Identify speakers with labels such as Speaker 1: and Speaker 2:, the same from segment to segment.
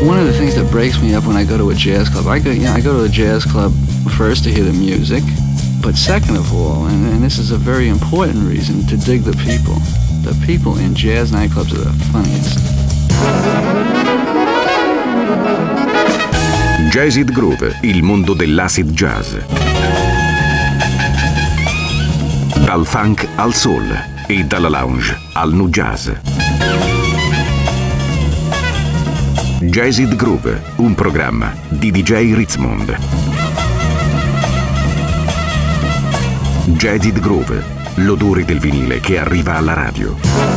Speaker 1: One of the things that breaks me up when I go to a jazz club, I go to a jazz club first to hear the music, but second of all, and this is a very important reason, to dig the people. The people in jazz nightclubs are the funniest.
Speaker 2: Jazzid Groove, il mondo dell'acid jazz. Dal funk al soul e dalla lounge al nu jazz. Jazzid Groove, un programma di DJ Ritzmond. Jazzid Groove, l'odore del vinile che arriva alla radio.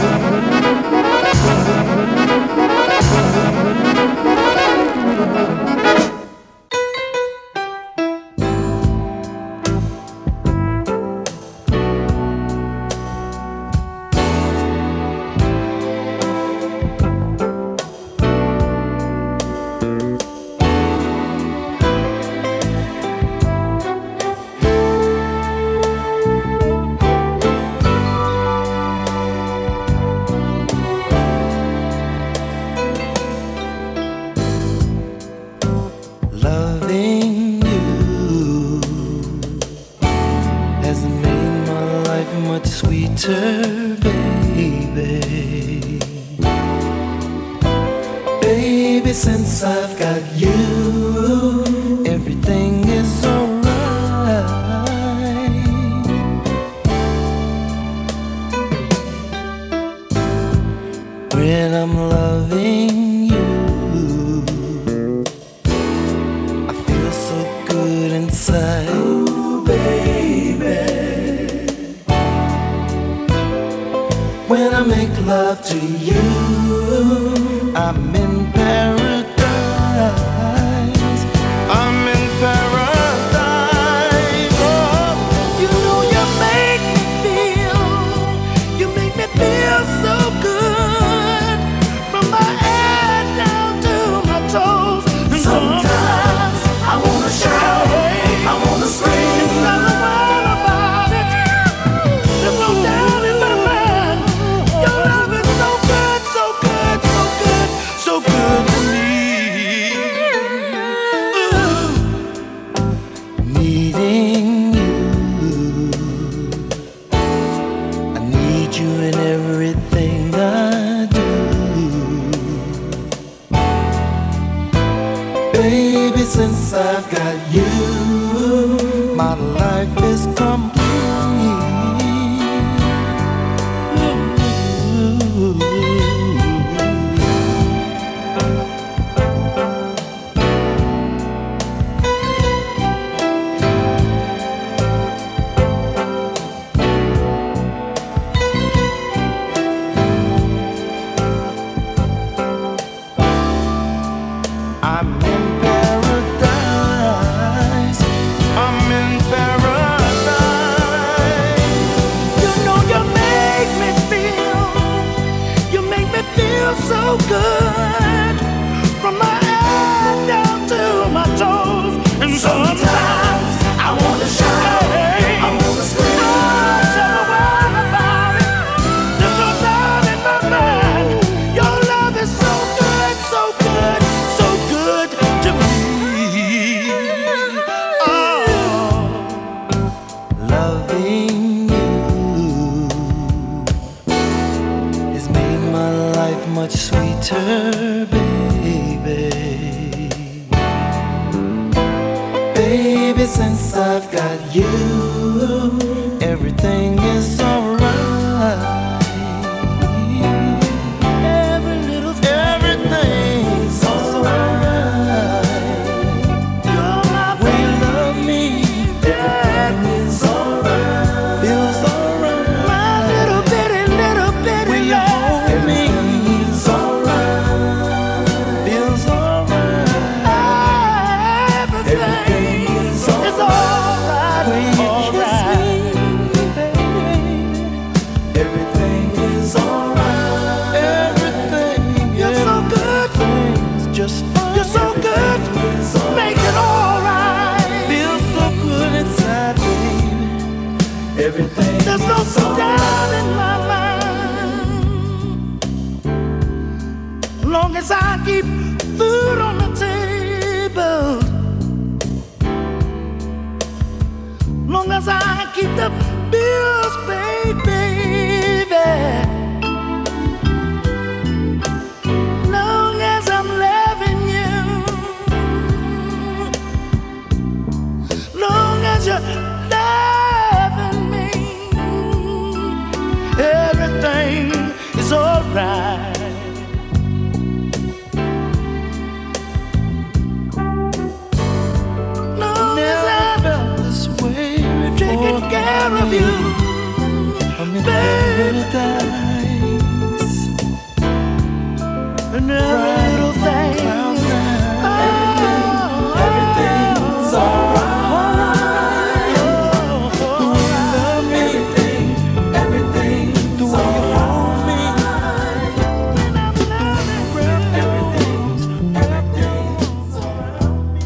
Speaker 3: There's no doubt in my mind. Long as I keep food on the table, long as I keep the bills paid, baby, long as I'm loving you, long as you're loving me, everything is alright. Taking care of you, paradise, and every little thing. Everything's alright. The way you love me, everything, the way you hold me, when I'm loving, everything's alright.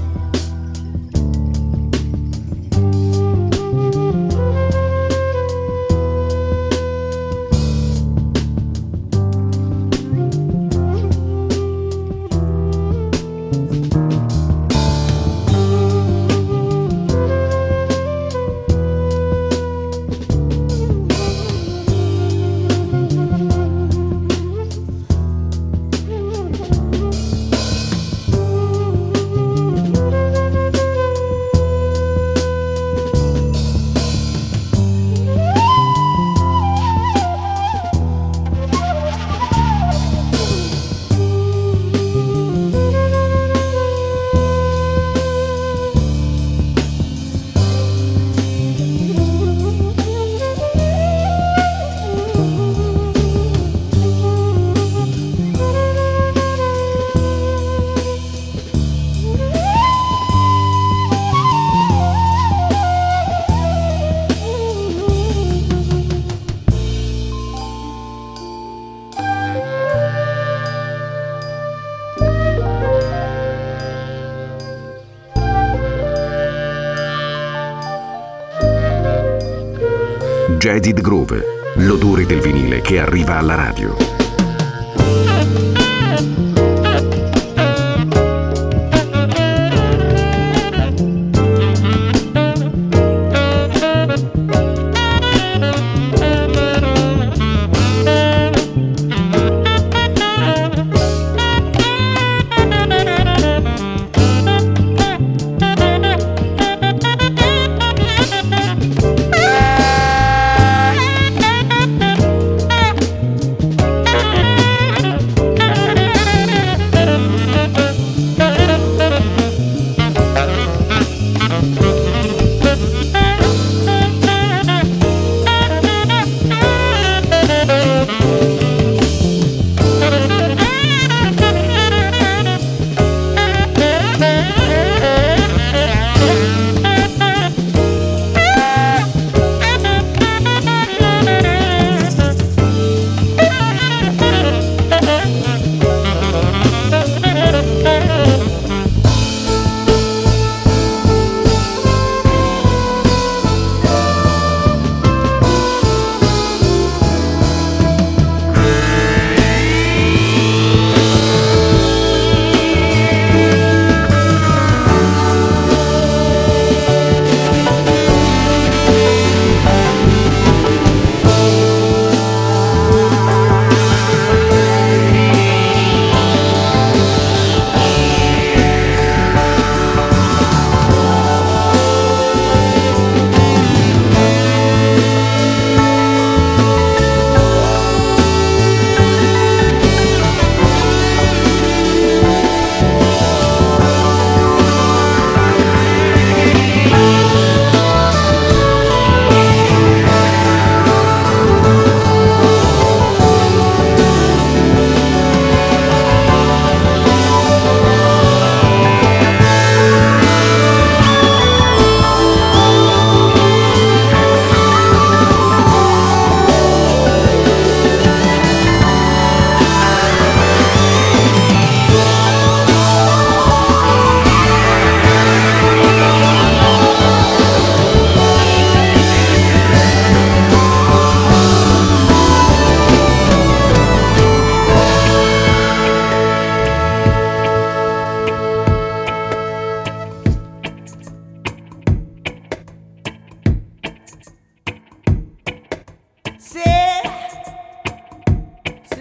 Speaker 2: Jaded Groove, l'odore del vinile che arriva alla radio.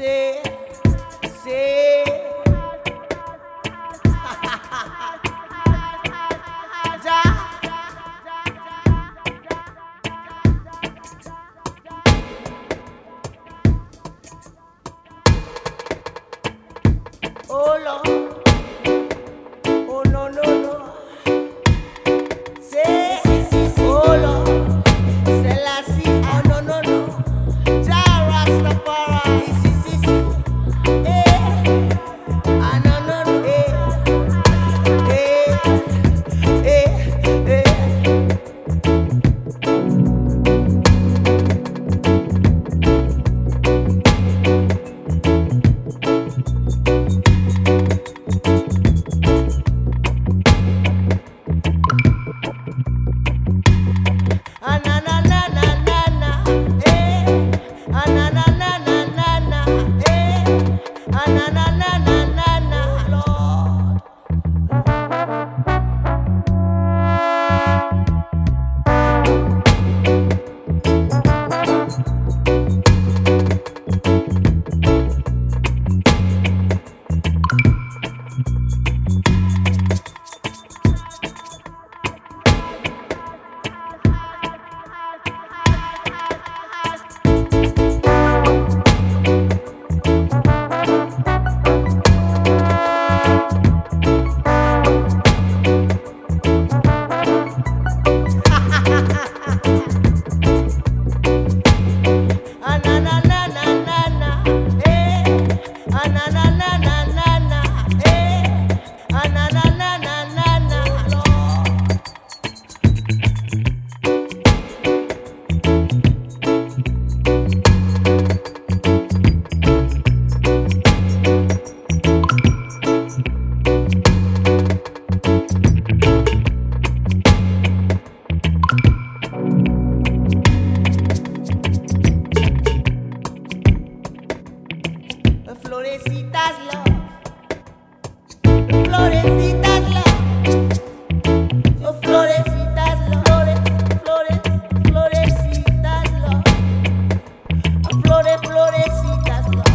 Speaker 3: Oh Lord, oh no no no. Say, oh Lord, Selassie, oh no no no. Jah Rastafari, ah no no no, Florecitas love, Florecitas love, oh Florecitas love, Florecitas love, Florecitas love.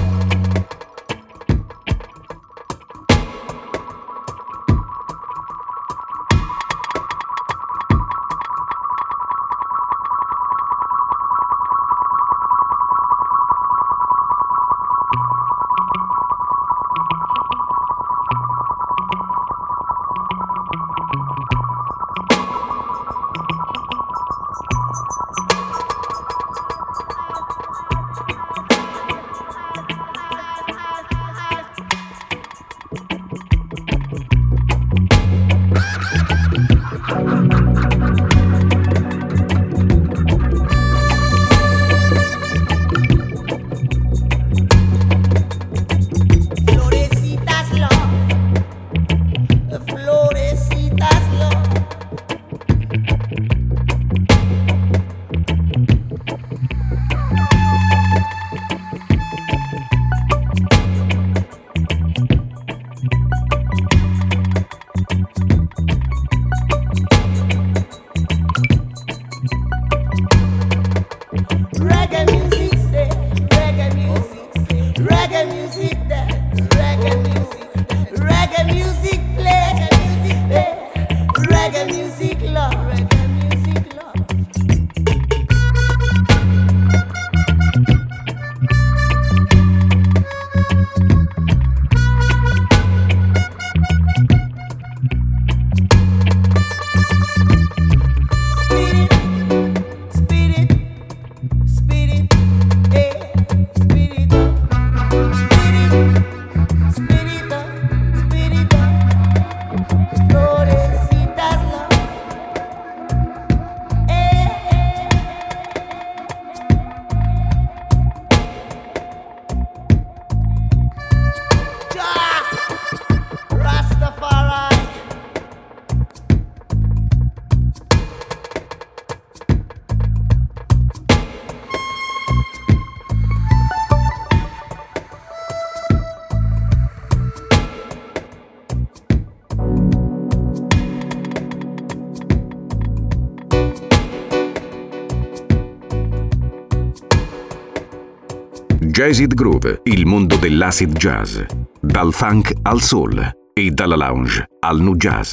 Speaker 3: Spirit, spirit, spirit.
Speaker 2: Jazzid Groove, il mondo dell'acid jazz, dal funk al soul e dalla lounge al nu jazz.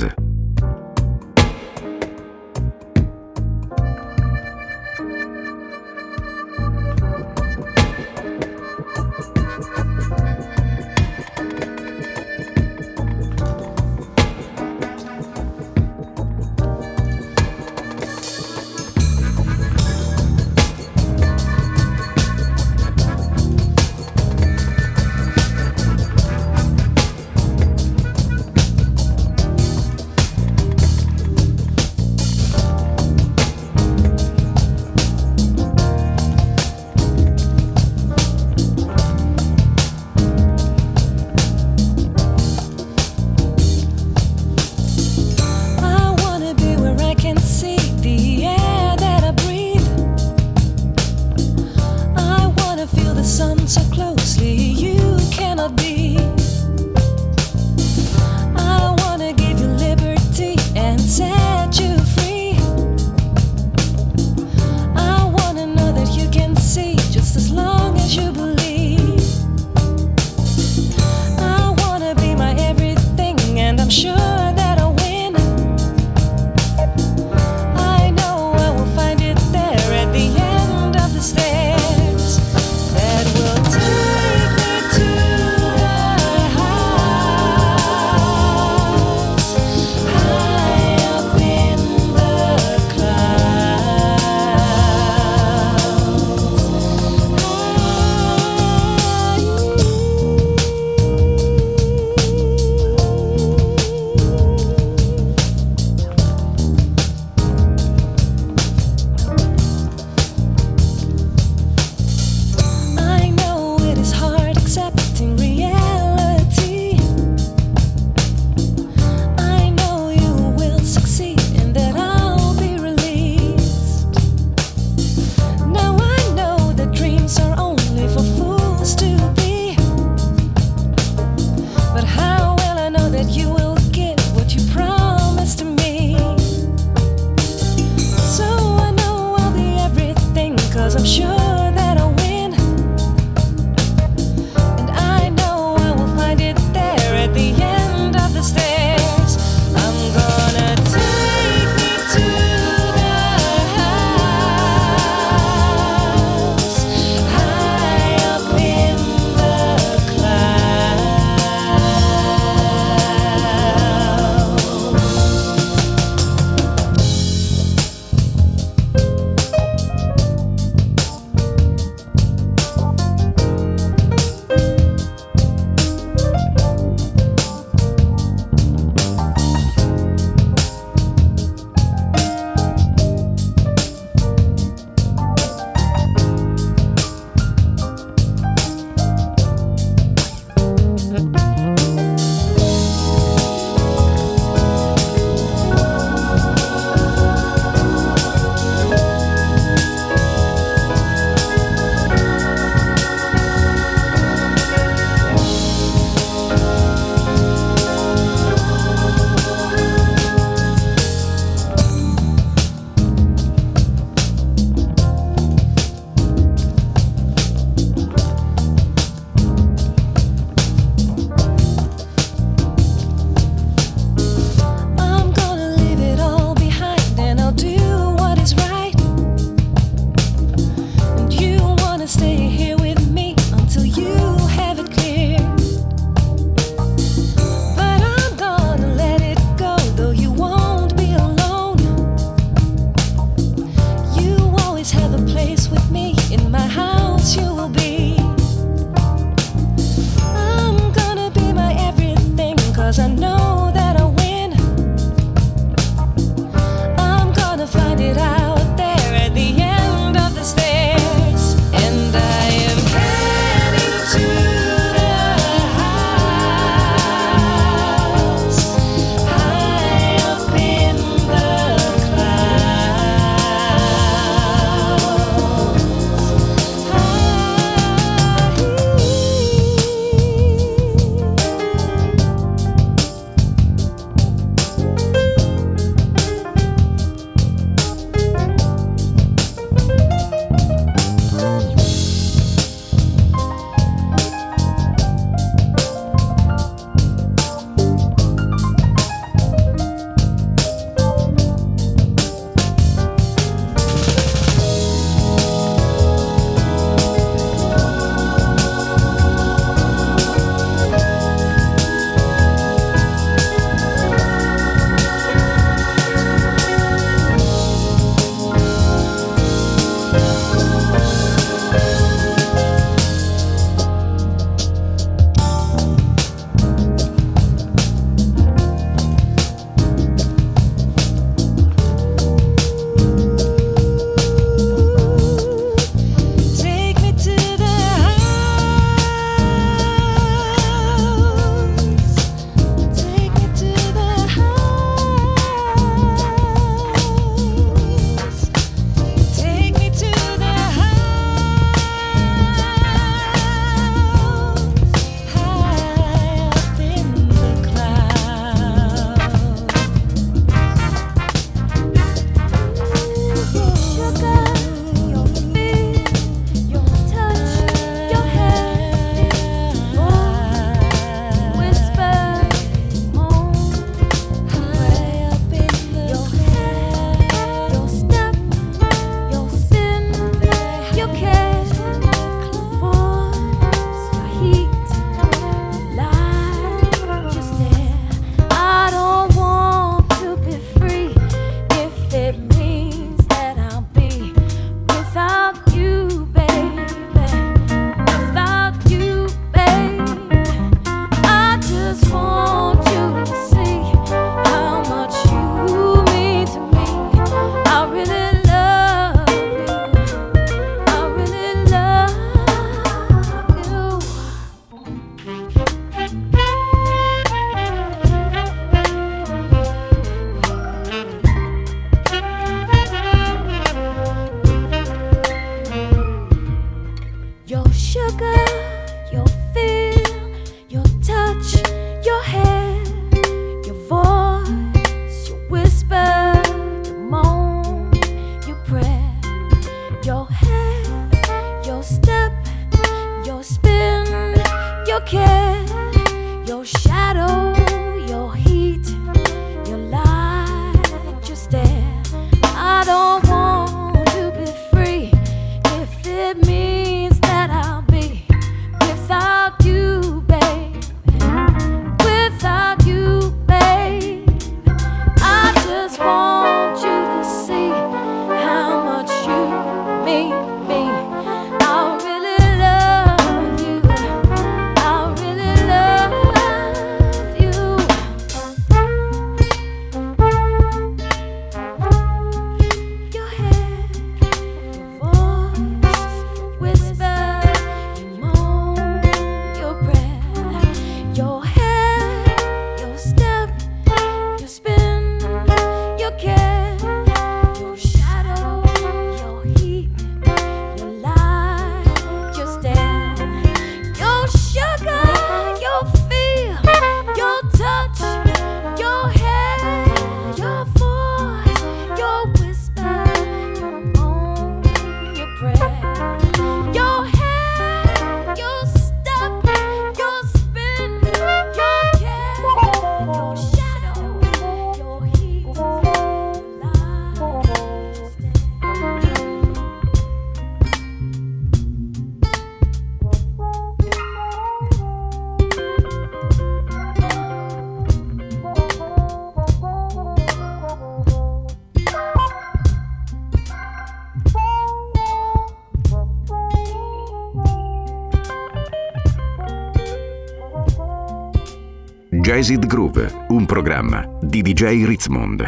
Speaker 2: Jazzed Groove, un programma di DJ Ritzmond.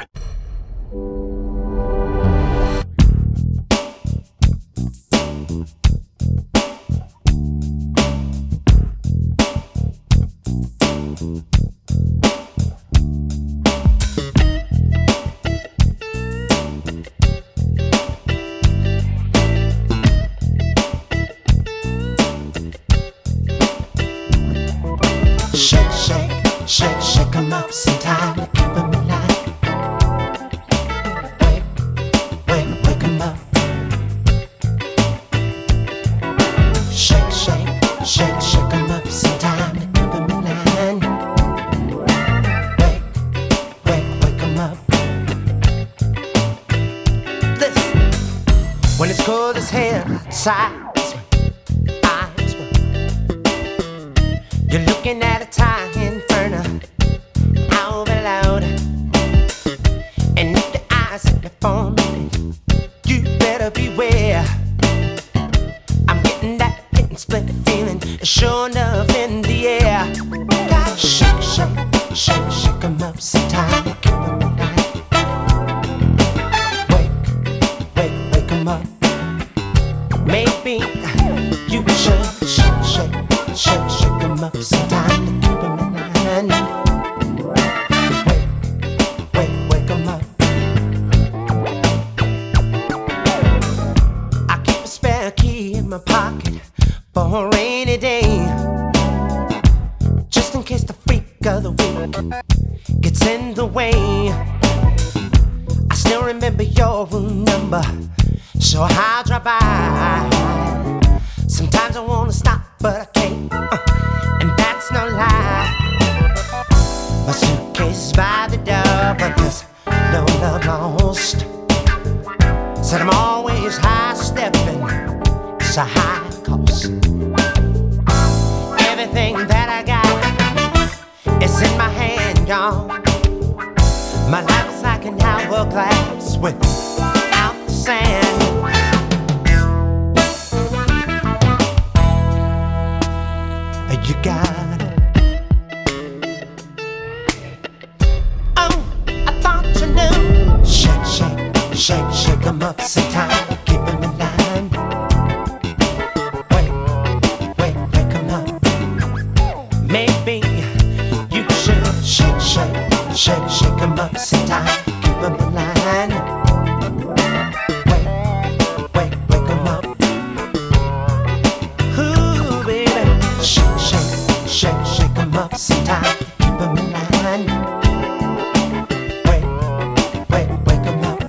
Speaker 4: Shake 'em up sometime to keep 'em alive. Wake 'em up. Shake 'em up sometime to keep 'em alive. Wake 'em up. Listen, when it's cold as hell outside, eyes wide. You're looking at a time inferno. And if the eyes set me for me, you better beware. I'm getting that getting split feeling, sure enough in the air. Gotta shake 'em up sometime to keep 'em alive. Wake 'em up. Maybe you should shake 'em up sometime to keep 'em alive. My pocket for a rainy day, just in case the freak of the week gets in the way. I still remember your room number, so I'll drop by. Sometimes I wanna stop, but I can't, and that's no lie. My suitcase is by the door, but there's no love lost. Said I'm always high stepping. A high cost. Everything that I got is in my hand, y'all. My life is like an hourglass without the sand. You got it. Oh, I thought you knew. Shake 'em up sometime. Keep 'em in line. Maybe you should shake 'em up sometime, keep 'em in line. Wake 'em up. Ooh, baby, shake 'em up sometime, keep 'em in line. Wake 'em up.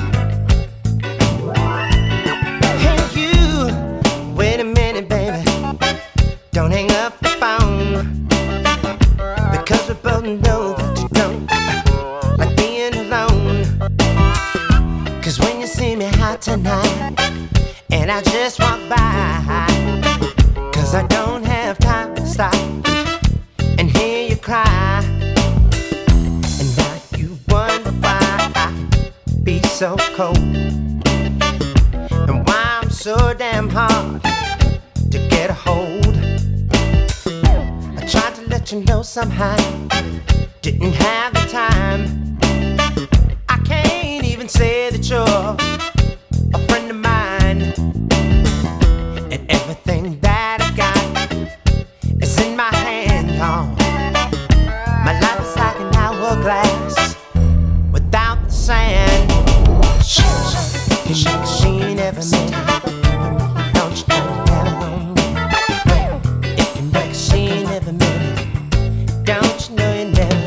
Speaker 4: Hey you, wait a minute, baby, don't hang up the phone. Because we both know that you don't like being alone. Cause when you see me out tonight and I just walk by, cause I don't have time to stop and hear you cry. And now you wonder why I be so cold, and why I'm so damn hard to get a hold. Tried to let you know somehow, didn't have the time. I can't even say that you're a friend of mine. And everything that I got is in my hand, y'all. My life is like an hourglass without the sand. Shake every minute. Don't you know you never gonna get. If you make a scene every minute, don't you know you never.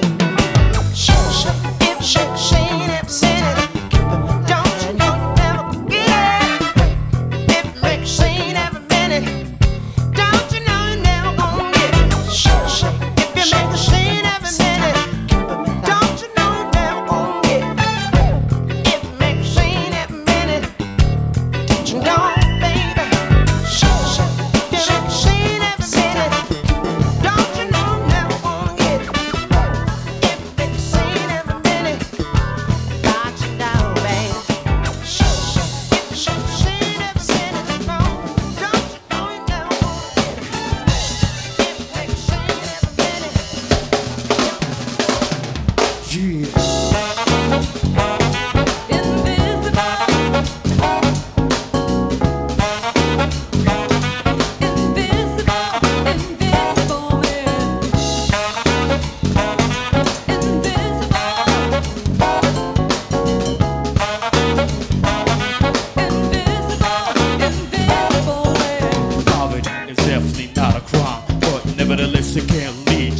Speaker 4: If shake every minute, don't you know you never get. If you make a scene every minute, don't you know you never gonna get. If you make a scene every minute, don't you know you never gonna get. If you make a scene every minute, don't you know.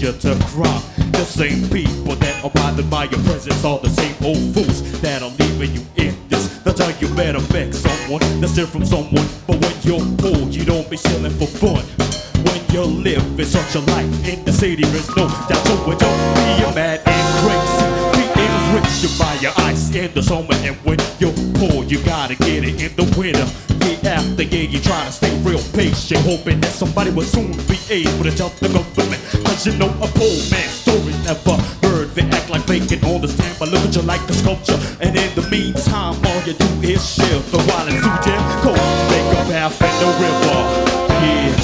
Speaker 5: you to cry. The same people that are bothered by your presence are the same old fools that are leaving you in this. That's how you better beg someone that's different from someone. But when you're poor, you don't be chilling for fun. When you live in such a life in the city, there's no doubt. So don't be mad and crazy. Being rich, you buy your ice in the summer, and when you're poor, you gotta get it in the winter. Year after year, you try to stay real patient, hoping that somebody will soon be able to tell the government. Cause you know a poor man's story never heard. They act like they can understand, but look at you like a sculpture. And in the meantime, all you do is shift. But while it's too damn cold, make a path in the river. Yeah.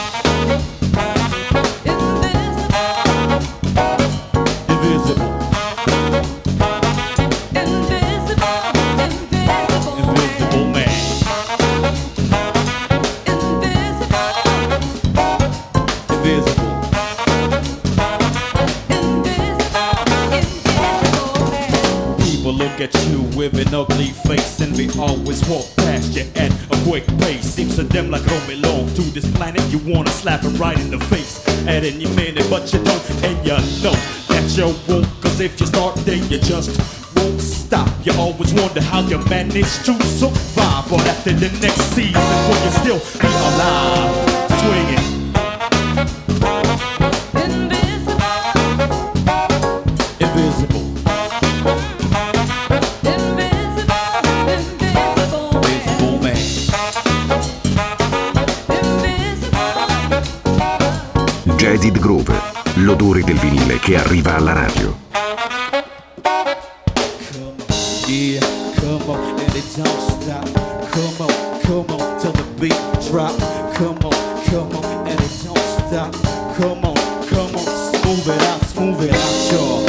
Speaker 5: At you with an ugly face, and we always walk past you at a quick pace. Seems to them like don't belong to this planet. You wanna slap it right in the face at any minute, but you don't, and you know that you won't. Cause if you start, then you just won't stop. You always wonder how you manage to survive, but after the next season, will you still be alive? Swinging. Invisible.
Speaker 2: Jazzed Groove, l'odore del vinile che arriva alla radio.
Speaker 5: Yeah, come on, and it don't stop. Come on, till the beat drop. Come on, and it don't stop. Come on, smooth it out, y'all. Smooth it out, y'all.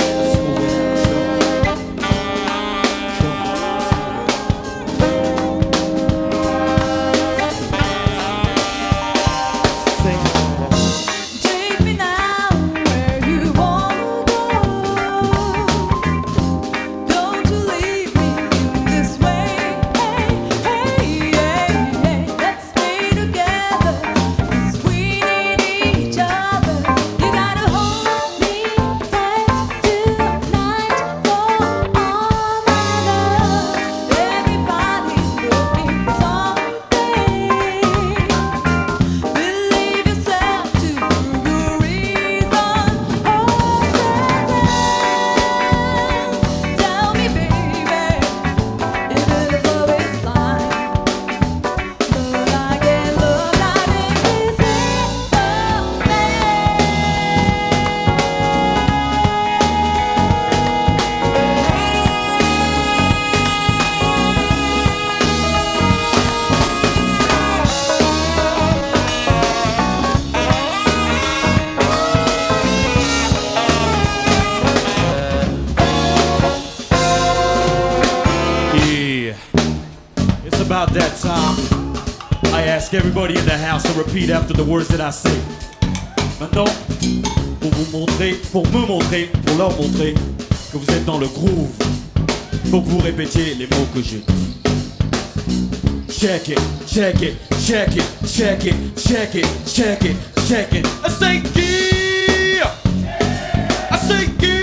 Speaker 5: About that time, I ask everybody in the house to repeat after the words that I say. Maintenant, pour me montrer, pour leur montrer que vous êtes dans le groove, faut que vous répétiez les mots que j'ai dit. Check it, check it, check it, check it, check it, check it, check it. I say yeah, I say yeah.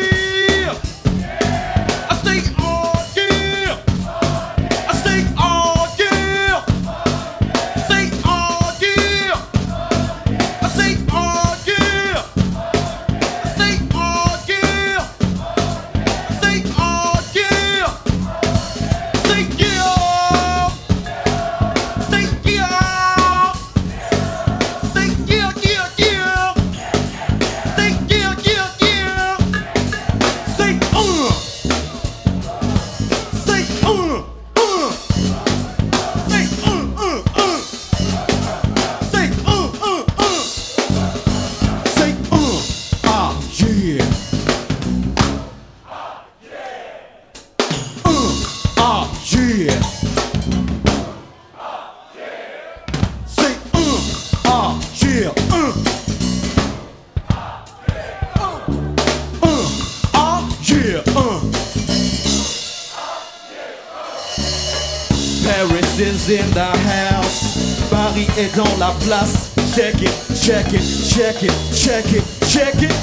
Speaker 5: Paris is in the house. Paris est dans la place. Check it, check it, check it, check it, check it,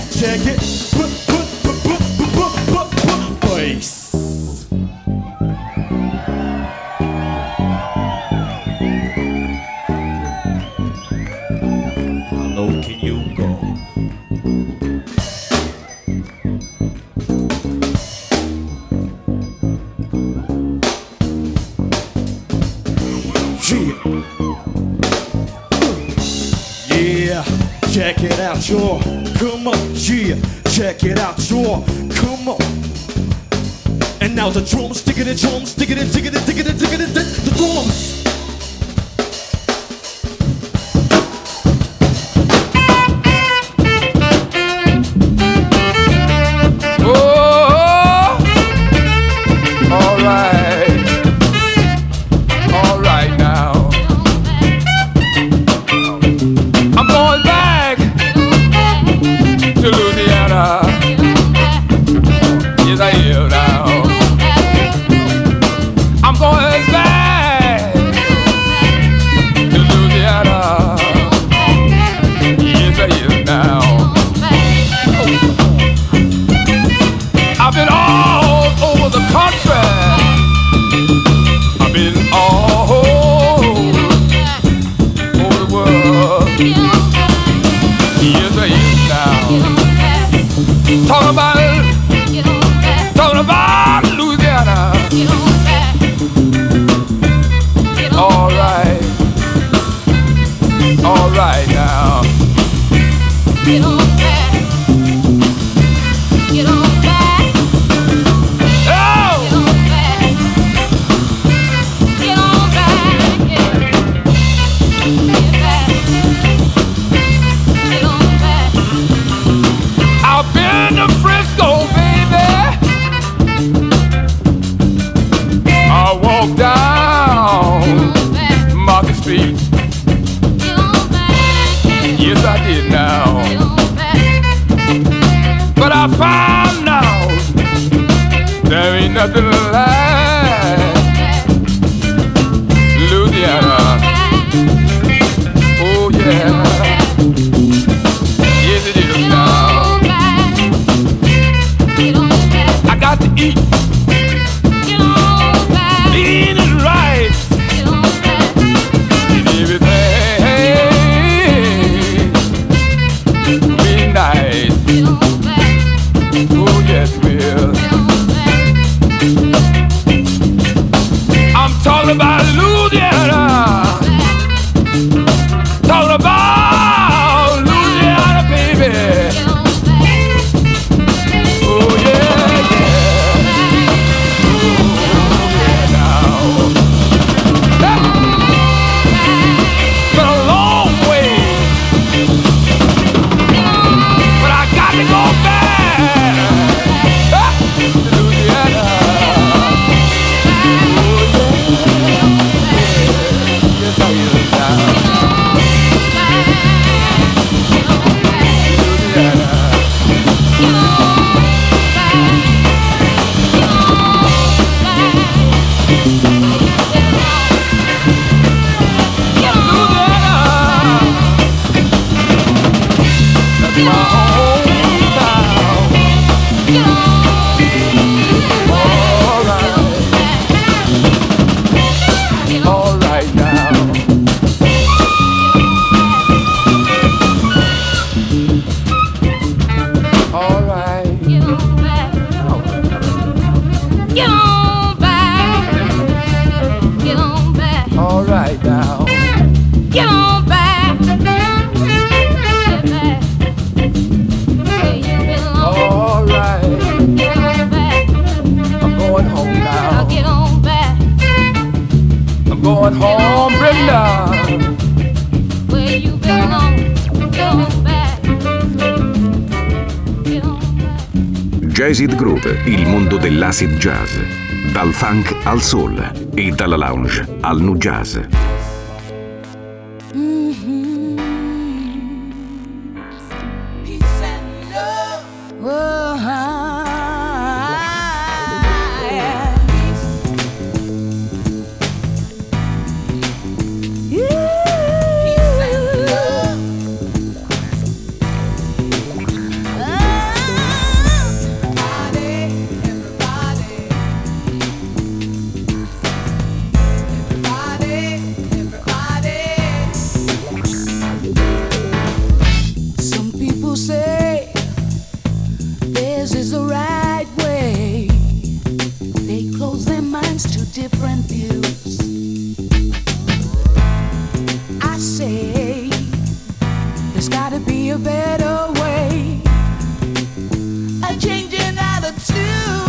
Speaker 5: bass. How low can you go? Yeah, check it out, y'all. Come on, yeah, check it out, y'all. Come on. And now the drums, digging it, drums, digging it, digging it, digging it, digging it, the drums.
Speaker 6: Nothing like Louisiana. Oh yeah, yes it is now. I got to eat. Eat it right. And everything be nice. Oh yes it will. I'm talking about Louisiana. Talking about Louisiana, baby. Oh yeah, yeah. Oh yeah, now. Been a long way, but I got to go back to Louisiana. Going home, Brenda. Where you belong, get on back. Get on back.
Speaker 2: Jazzed Groove, il mondo dell'acid jazz. Dal funk al soul e dalla lounge al nu jazz.
Speaker 7: this is the right way. They close their minds to different views. I say there's gotta be a better way, a change in attitude.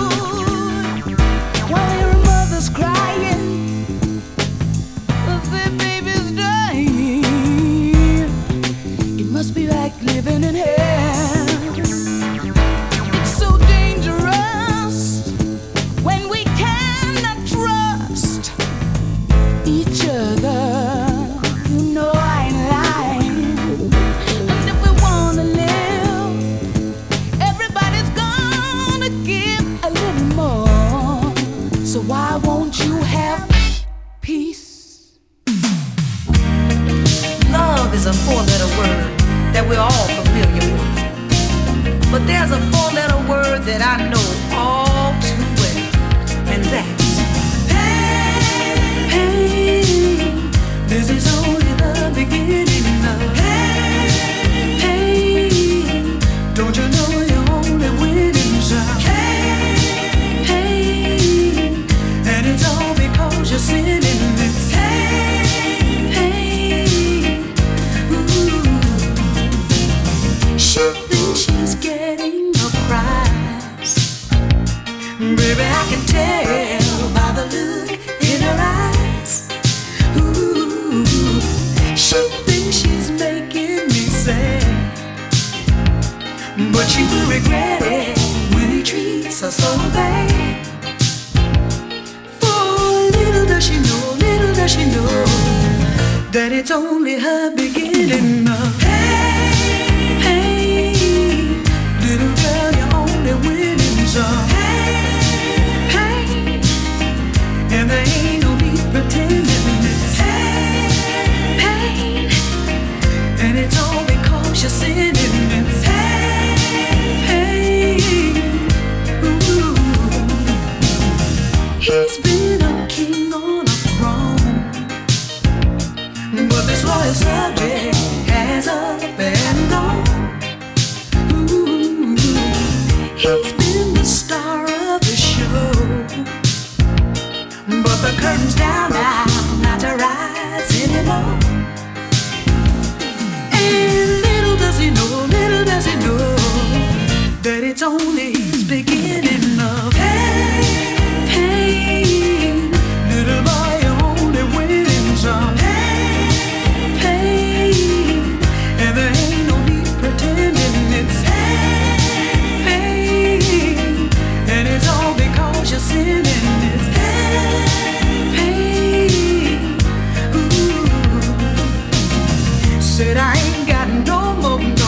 Speaker 7: While there are mothers crying, their babies dying, it must be like living in hell. It's so dangerous when we cannot trust each other. You know I ain't lying. And if we wanna live, everybody's gonna give a little more. So why won't you have peace?
Speaker 8: Love is a four-letter word that we're all familiar with. But there's a four-letter word that I know all too well, and that's pain. Pain. This is only the beginning of pain. Pain. Don't you know you're only winning some pain. Pain. And it's all because you're sinning. It's pain. Pain. Ooh. She thinks she's getting a prize. Baby, I can tell by the look in her eyes. Ooh. She thinks she's making me sad, but she will regret it when he treats her so bad. For little does she know that it's only her beginning of pain. Pain. Little girl, you're only winning some pain. And there ain't no need pretending it's pain. And it's all because you're sinning. It's pain. Ooh. He's been a king on a throne, but this royal subject has up and gone. Ooh. He's been the star of the show, but the curtain's down now, not to rise anymore. And little does he know that it's only his beginning of pain. Pain. Little boy, you're only winning some pain. Pain. And there ain't no need pretending it's pain. And it's all because you're sinning. It's pain. Ooh. Said I ain't got no more pain.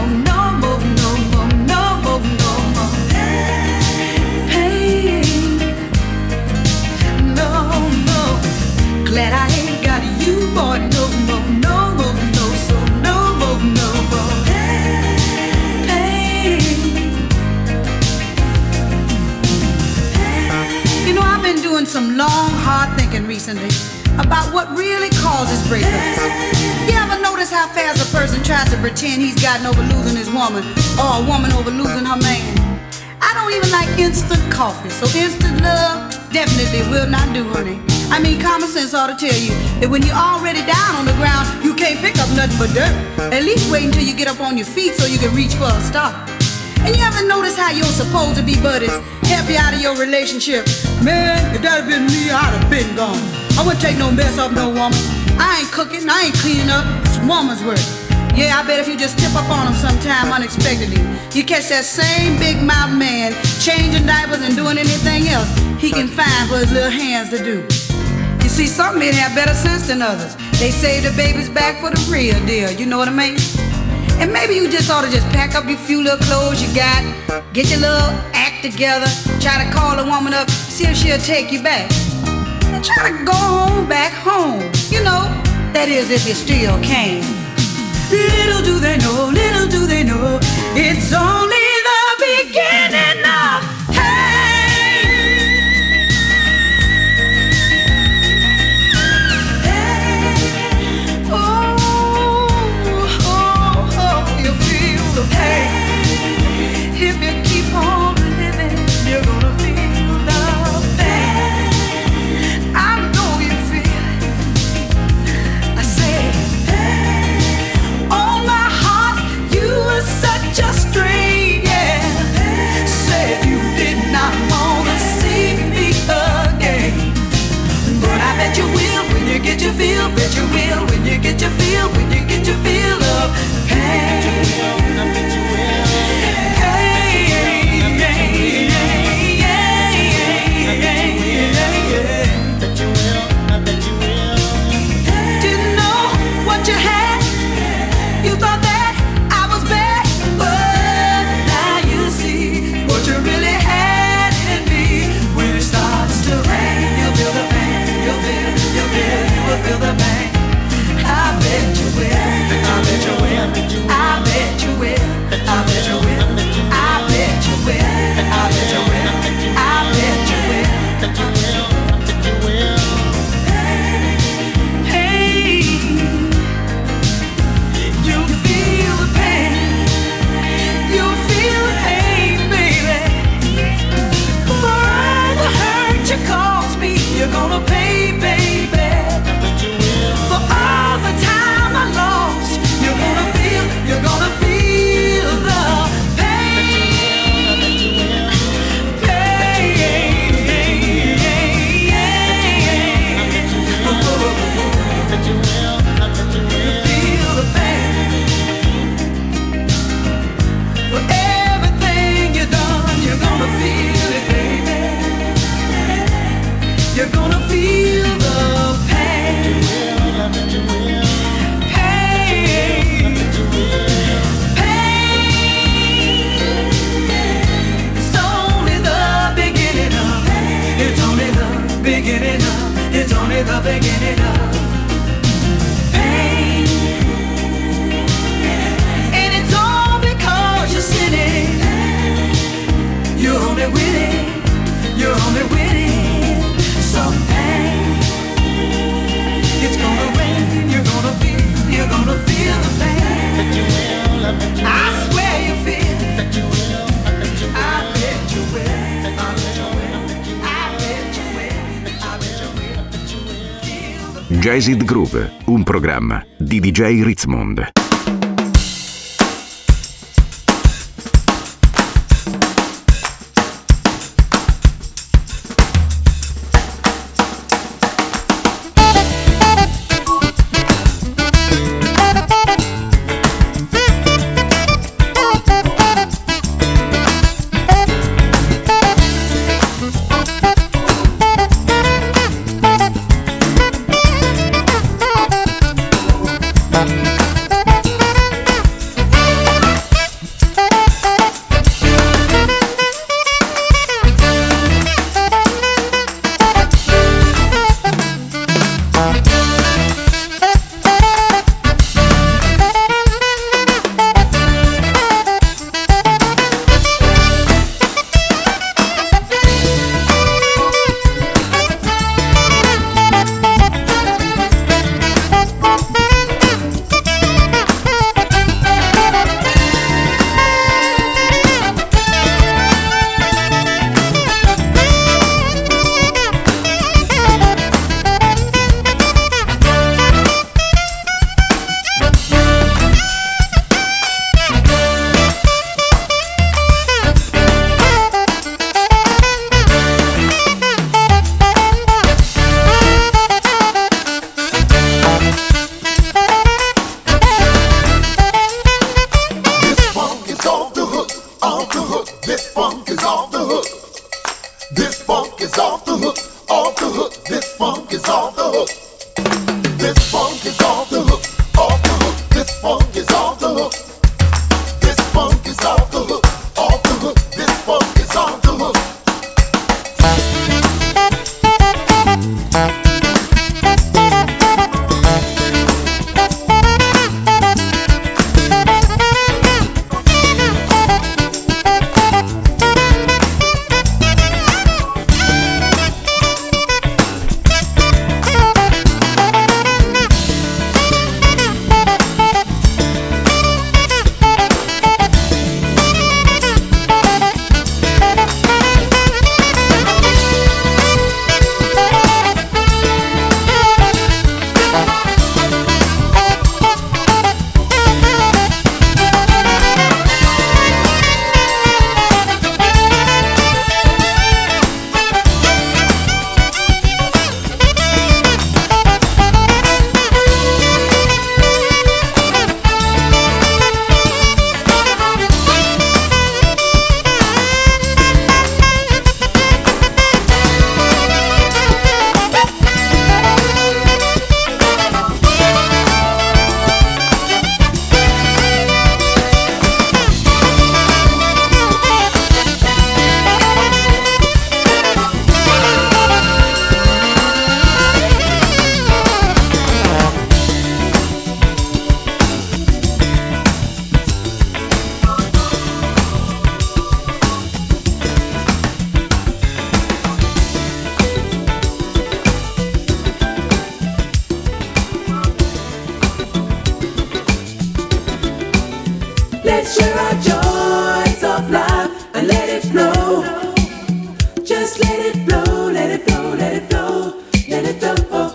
Speaker 8: No. Glad I ain't got you, boy. No more. So no more pain. You know, I've been doing some long, hard thinking recently about what really causes breakups. You ever notice how fast a person tries to pretend he's gotten over losing his woman, or a woman over losing her man? I don't even like instant coffee, so instant love definitely will not do, honey. I mean, common sense ought to tell you that when you're already down on the ground, you can't pick up nothing but dirt. At least wait until you get up on your feet so you can reach for a start. And you ever notice how your supposed to be buddies help you out of your relationship? Man, if that had been me, I'd have been gone. I wouldn't take no mess off no woman. I ain't cooking, I ain't cleaning up. It's woman's work. Yeah, I bet if you just tip up on him sometime unexpectedly, you catch that same big mouth man changing diapers and doing anything else he can find for his little hands to do. You see, some men have better sense than others. They save the baby's back for the real deal, you know what I mean? And maybe you just ought to just pack up your few little clothes you got, get your little act together, try to call a woman up, see if she'll take you back. And try to go home, back home, you know, that is if you still can. Little do they know, it's only the beginning of pain. Oh, you feel the pain if you keep on
Speaker 7: you get your feel, when you get your feel of pain. Didn't know what you had. You thought that I was bad, but now you see what you really had in me. When it starts to rain, you'll feel the pain. You'll feel, you will feel the pain. I bet you will. I bet you will. I bet you will. I bet you will. I bet you will. I bet you will. I bet you will. Hey, you feel the pain. You feel the pain, baby. For all the hurt you caused me, you're gonna pay, baby. For all the time I lost, you're gonna feel the pain. Feel the pain. For everything you've done, you're gonna feel it, baby. You're gonna feel the pain. Pain. Pain. It's only the beginning of. It's only the beginning of. It's only the beginning of pain. And it's all because you're sinning. You're only winning. You're only winning some pain. It's gonna rain. You're gonna feel the pain. I swear you feel. I bet you will. I bet you will. I bet you will. I bet you will. Feel the
Speaker 2: Jazzed Groove, un programma di DJ Ritzmond.
Speaker 7: flow. Just let it flow, let it flow, let it flow, let it flow.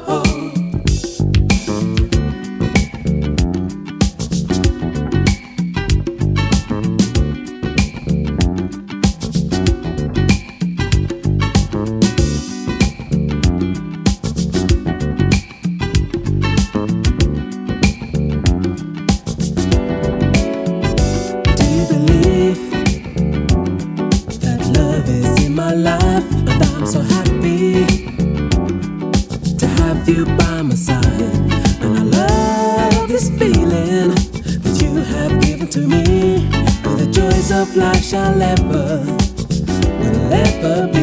Speaker 7: Life shall ever, will ever be.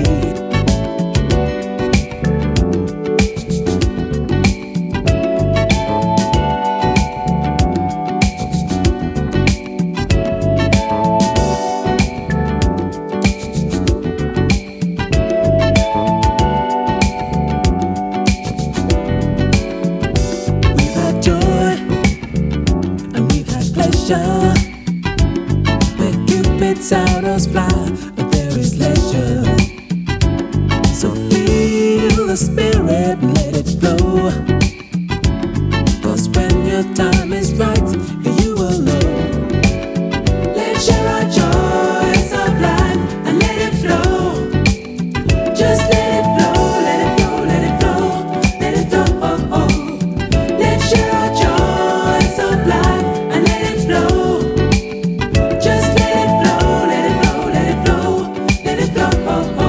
Speaker 7: We've had joy and we've had pleasure. Arrows fly, but there is leisure. So feel the spirit and let it flow. 'Cause when your time is right, you will know. Let's share our joys of life and let it flow. Just let it flow, let it flow, let it flow, let it flow. Let's share our joys of life and let it flow. Just let it flow. Let it flow, let it flow, let it flow.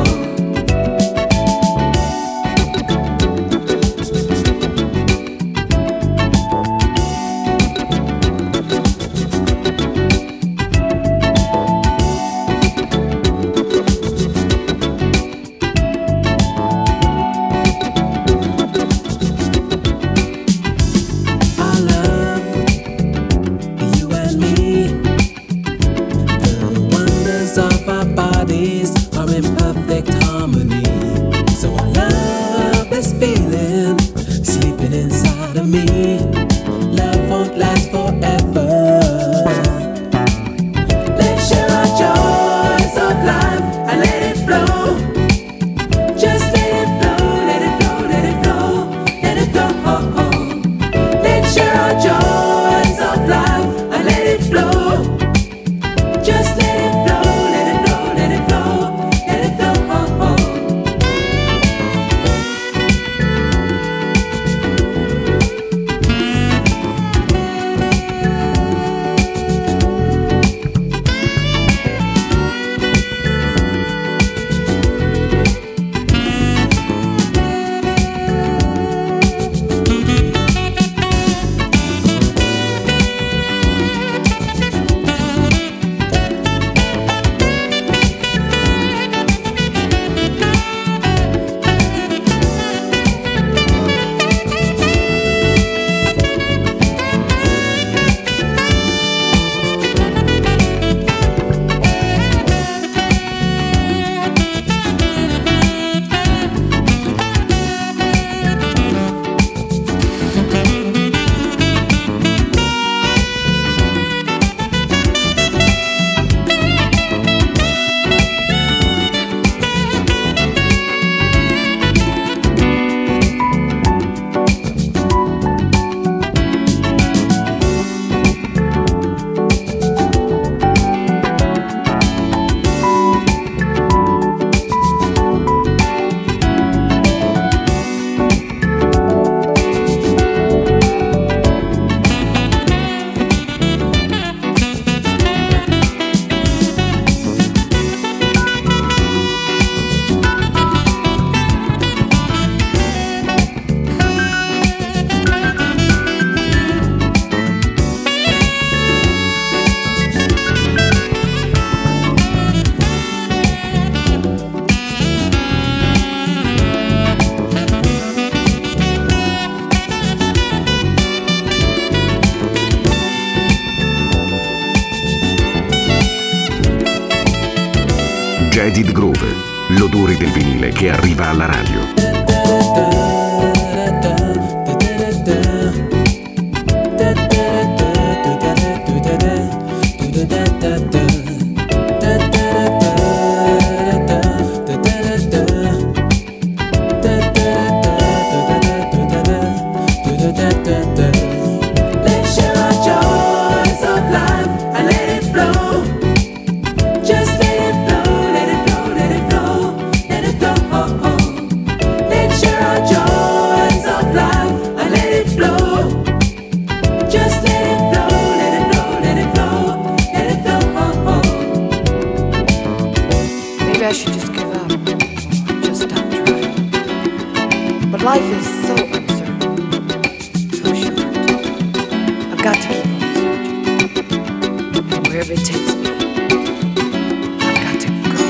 Speaker 7: Our love, you and me. The wonders of our bodies are in perfect harmony. So I love this feeling sleeping inside of me. Love won't last forever. Let's share our joys of life and let it flow. Just let it flow, let it flow, let it flow, let it flow. Let's share our joys of life and let it flow. Just let it flow, let it flow, let it flow, let it flow.
Speaker 2: Jaded Groove, l'odore del vinile che arriva alla radio.
Speaker 9: I should just give up, just stop trying. But life is so uncertain, so short. I've got to keep on searching. And wherever it takes me, I've got to go.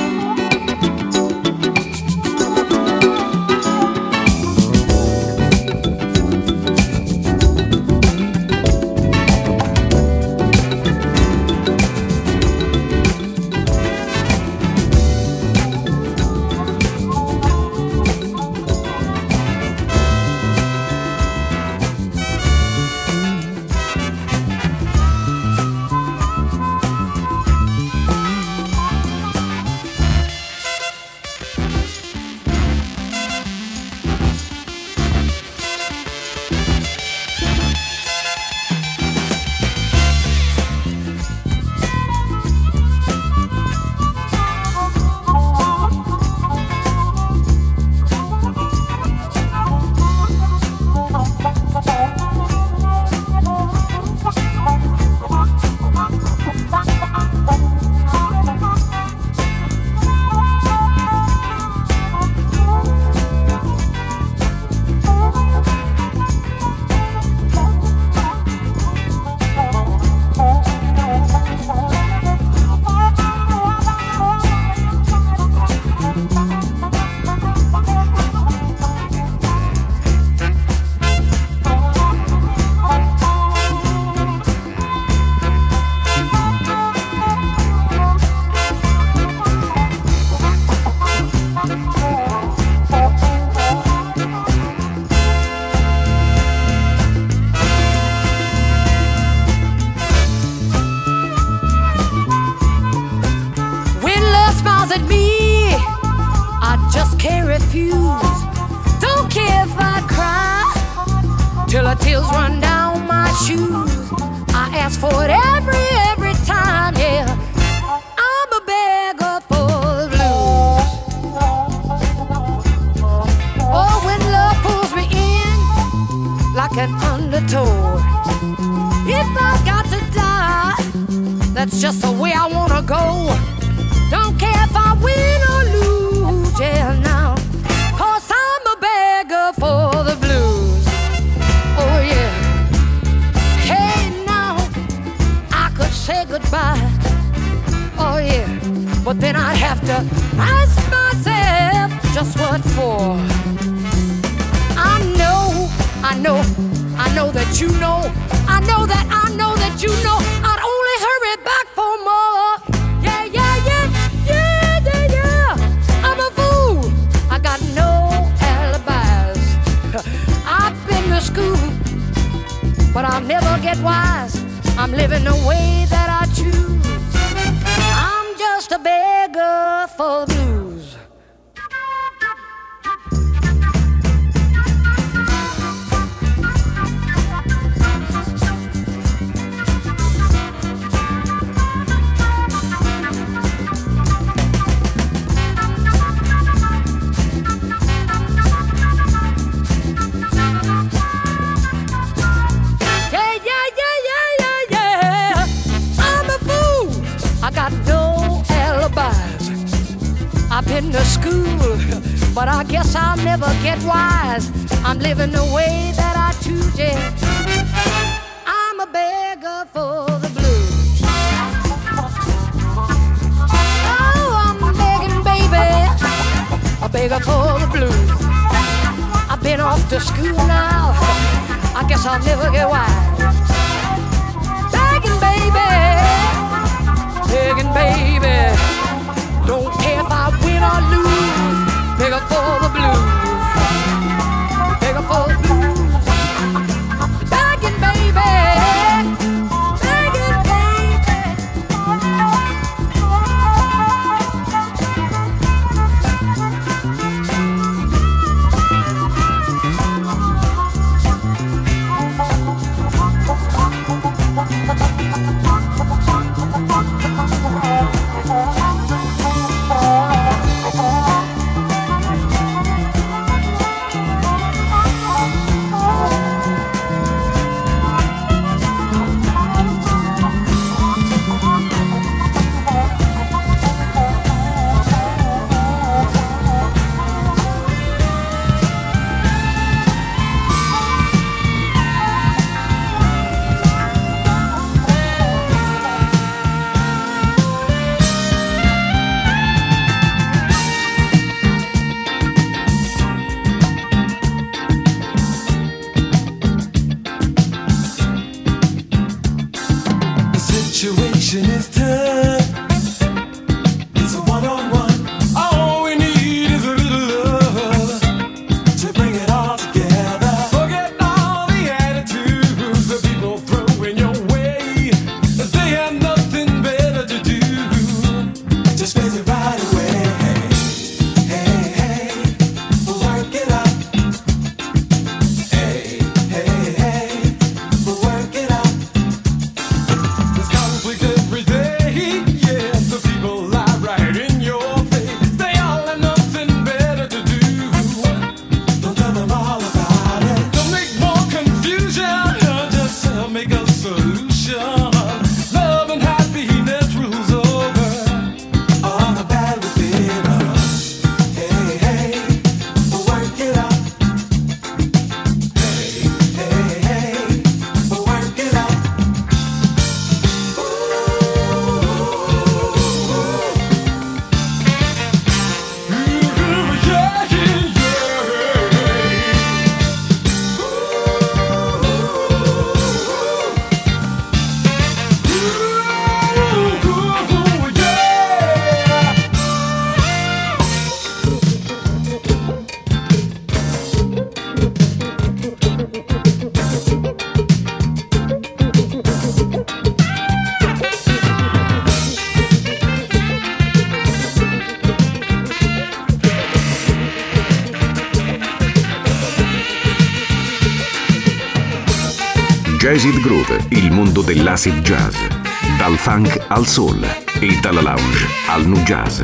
Speaker 2: Jazzid Groove, il mondo dell'acid jazz. Dal funk al soul e dalla lounge al nu jazz.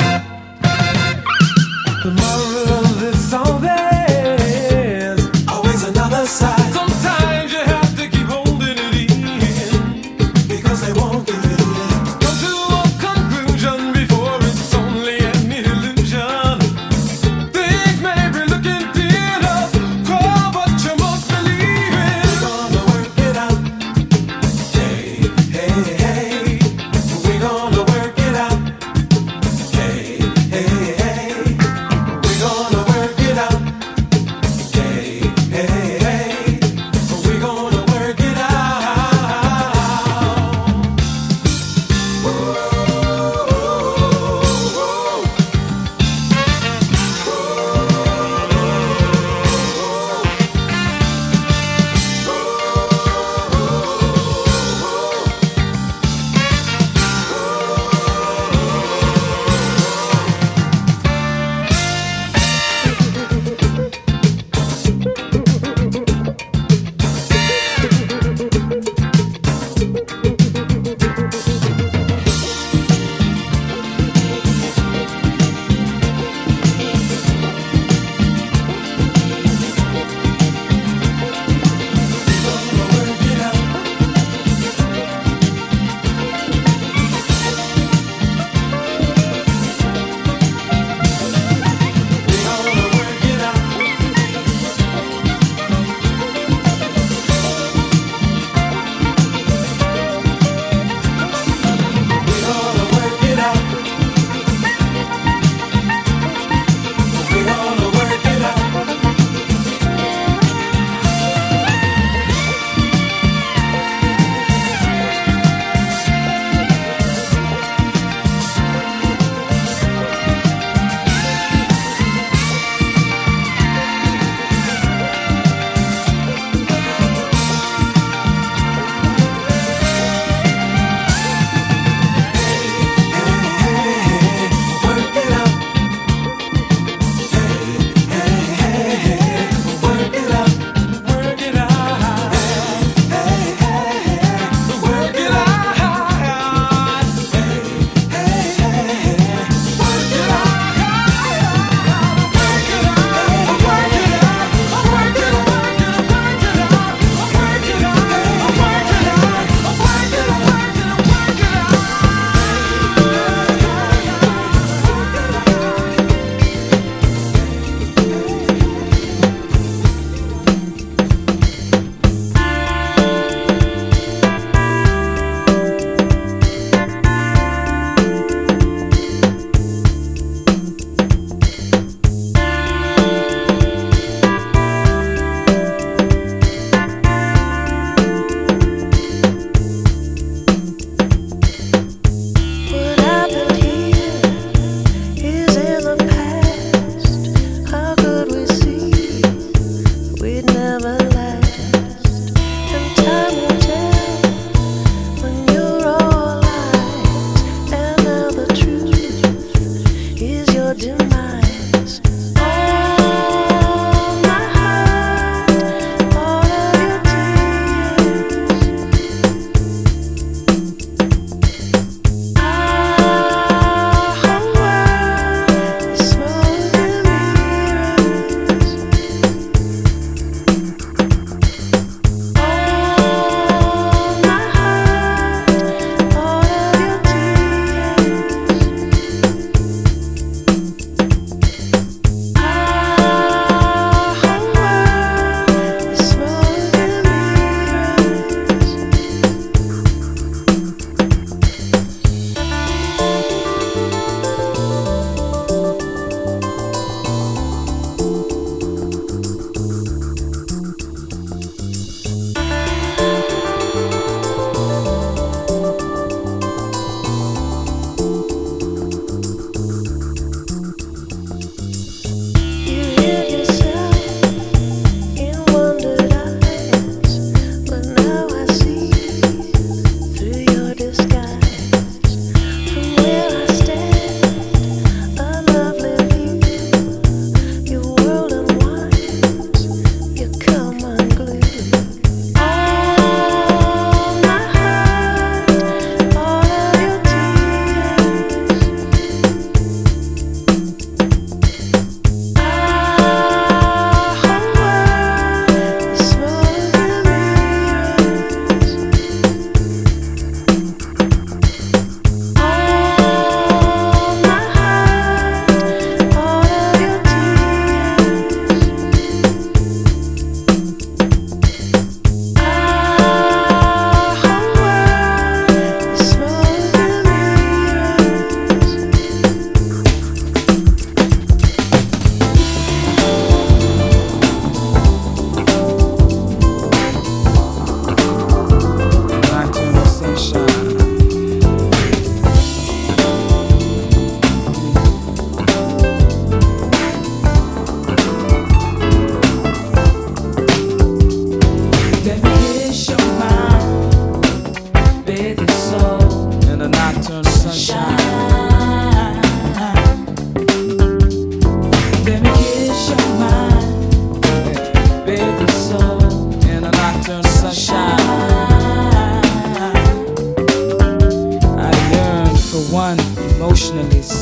Speaker 10: The moral of this song is always another side. Sometimes you have to keep holding it in because they won't give it in. Come to a conclusion before it's only an illusion. Things may be looking dim up, but you must believe it. We're gonna work it out. Hey, hey, hey. We're gonna work it out. Hey, hey, hey.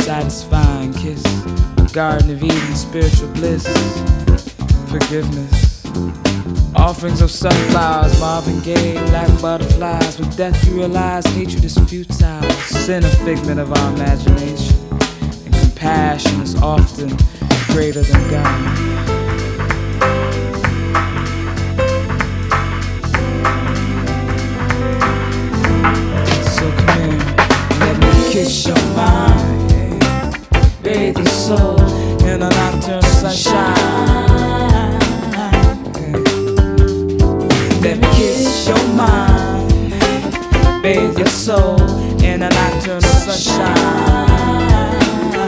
Speaker 11: satisfying kiss, a garden of Eden, spiritual bliss, forgiveness. Offerings of sunflowers, Marvin Gaye, black butterflies. With death you realize hatred is futile, sin a figment of our imagination, and compassion is often greater than God. So come here, let me kiss your mind, bathe your soul in a nocturnal sunshine. Let me kiss your mind, bathe your soul in a nocturnal sunshine.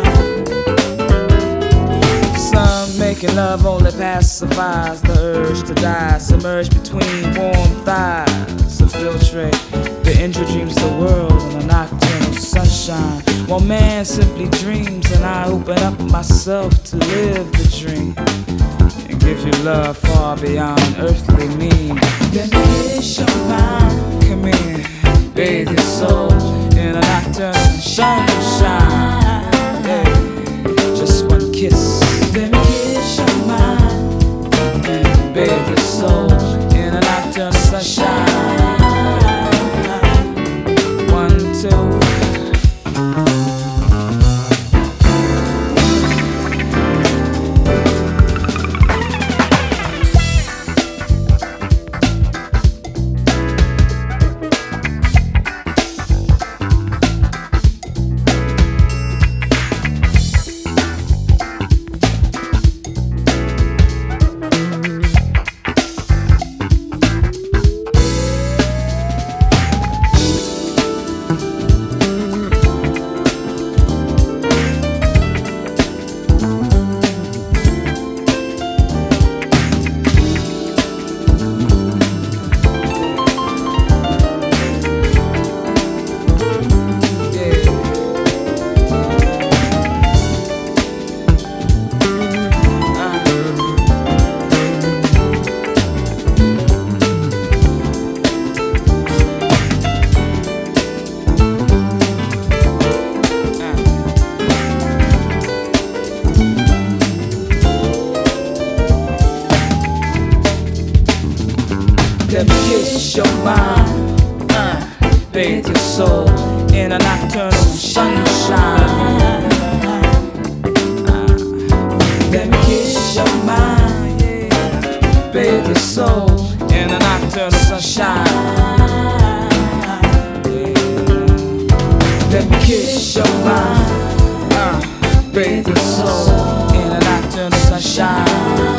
Speaker 11: Some making love only pacifies the urge to die, submerged between warm thighs, infiltrate the injured dreams of the world in a nocturnal sunshine. While man simply dreams and I open up myself to live the dream, give you love far beyond earthly means. Let me kiss your mind. Come here, bathe your soul in a nocturnal sunshine. Yeah. Just one kiss. Let me kiss your mind and bathe your soul in a nocturnal sunshine. 1, 2. Let me kiss your mind, bathe your soul in a nocturnal sunshine. Let me kiss your mind, yeah. Bathe your soul in a nocturnal sunshine. Yeah. Let me kiss your mind, bathe your soul in a nocturnal sunshine.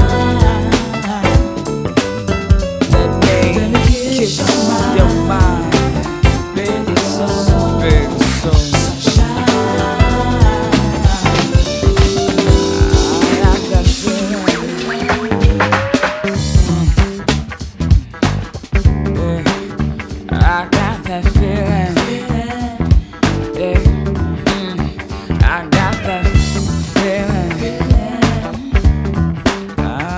Speaker 11: Kiss your mind, baby, soul, baby, soul. I got feeling, yeah. I got that feeling, yeah. I got that feeling.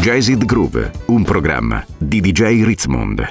Speaker 2: Jazzed Groove, un programma di DJ Ritzmond.